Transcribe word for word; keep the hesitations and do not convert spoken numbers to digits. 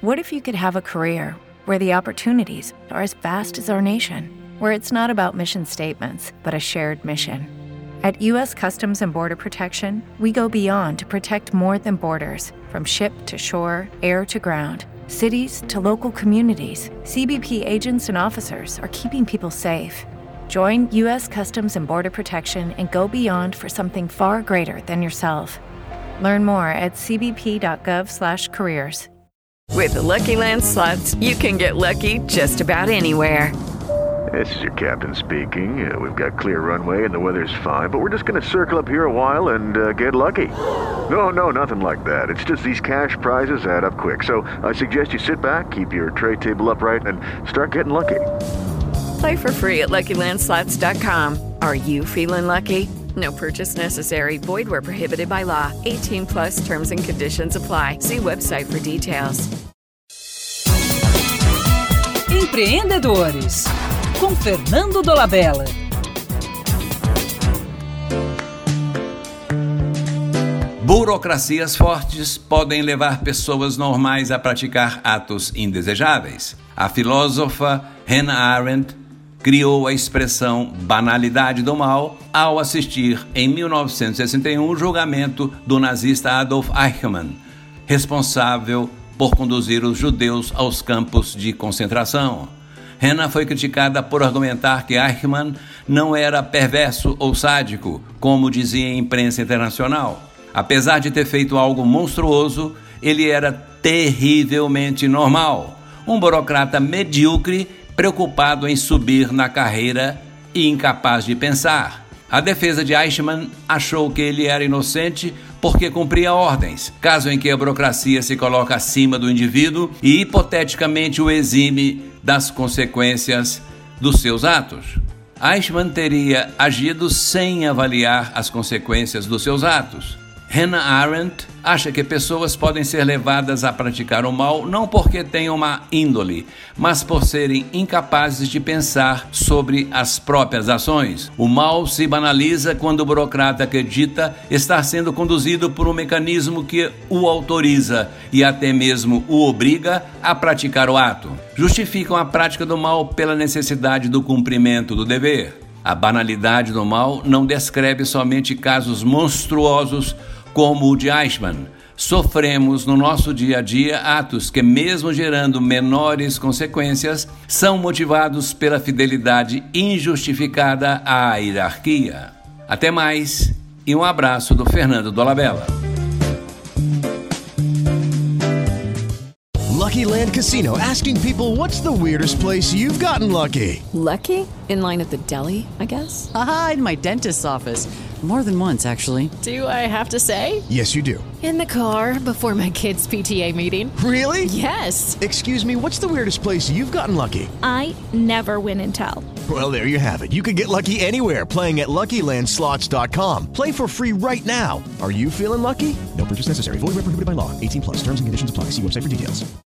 What if you could have a career where the opportunities are as vast as our nation, where it's not about mission statements, but a shared mission? At U S Customs and Border Protection, we go beyond to protect more than borders. From ship to shore, air to ground, cities to local communities, C B P agents and officers are keeping people safe. Join U S Customs and Border Protection and go beyond for something far greater than yourself. Learn more at c b p dot gov slash careers. With the Lucky Land Slots, you can get lucky just about anywhere. This is your captain speaking. Uh, we've got clear runway and the weather's fine, but we're just going to circle up here a while and uh, get lucky. No, no, nothing like that. It's just these cash prizes add up quick. So I suggest you sit back, keep your tray table upright, and start getting lucky. Play for free at lucky land slots dot com. Are you feeling lucky? No purchase necessary. Void where prohibited by law. eighteen plus terms and conditions apply. See website for details. Empreendedores, com Fernando Dolabella. Burocracias fortes podem levar pessoas normais a praticar atos indesejáveis. A filósofa Hannah Arendt criou a expressão banalidade do mal ao assistir, em mil novecentos e sessenta e um, o julgamento do nazista Adolf Eichmann, responsável por conduzir os judeus aos campos de concentração. Hannah foi criticada por argumentar que Eichmann não era perverso ou sádico, como dizia a imprensa internacional. Apesar de ter feito algo monstruoso, ele era terrivelmente normal, um burocrata medíocre preocupado em subir na carreira e incapaz de pensar. A defesa de Eichmann achou que ele era inocente porque cumpria ordens, caso em que a burocracia se coloca acima do indivíduo e hipoteticamente o exime das consequências dos seus atos. Eichmann teria agido sem avaliar as consequências dos seus atos. Hannah Arendt acha que pessoas podem ser levadas a praticar o mal não porque tenham uma índole, mas por serem incapazes de pensar sobre as próprias ações. O mal se banaliza quando o burocrata acredita estar sendo conduzido por um mecanismo que o autoriza e até mesmo o obriga a praticar o ato. Justificam a prática do mal pela necessidade do cumprimento do dever. A banalidade do mal não descreve somente casos monstruosos como o de Eichmann. Sofremos no nosso dia a dia atos que, mesmo gerando menores consequências, são motivados pela fidelidade injustificada à hierarquia. Até mais e um abraço do Fernando Dolabella. Lucky Land Casino, asking people, what's the weirdest place you've gotten lucky? Lucky? In line at the deli, I guess? Aha, in my dentist's office. More than once, actually. Do I have to say? Yes, you do. In the car before my kids' P T A meeting. Really? Yes. Excuse me, what's the weirdest place you've gotten lucky? I never win and tell. Well, there you have it. You can get lucky anywhere, playing at lucky land slots dot com. Play for free right now. Are you feeling lucky? No purchase necessary. Void where prohibited by law. eighteen plus. Terms and conditions apply. See website for details.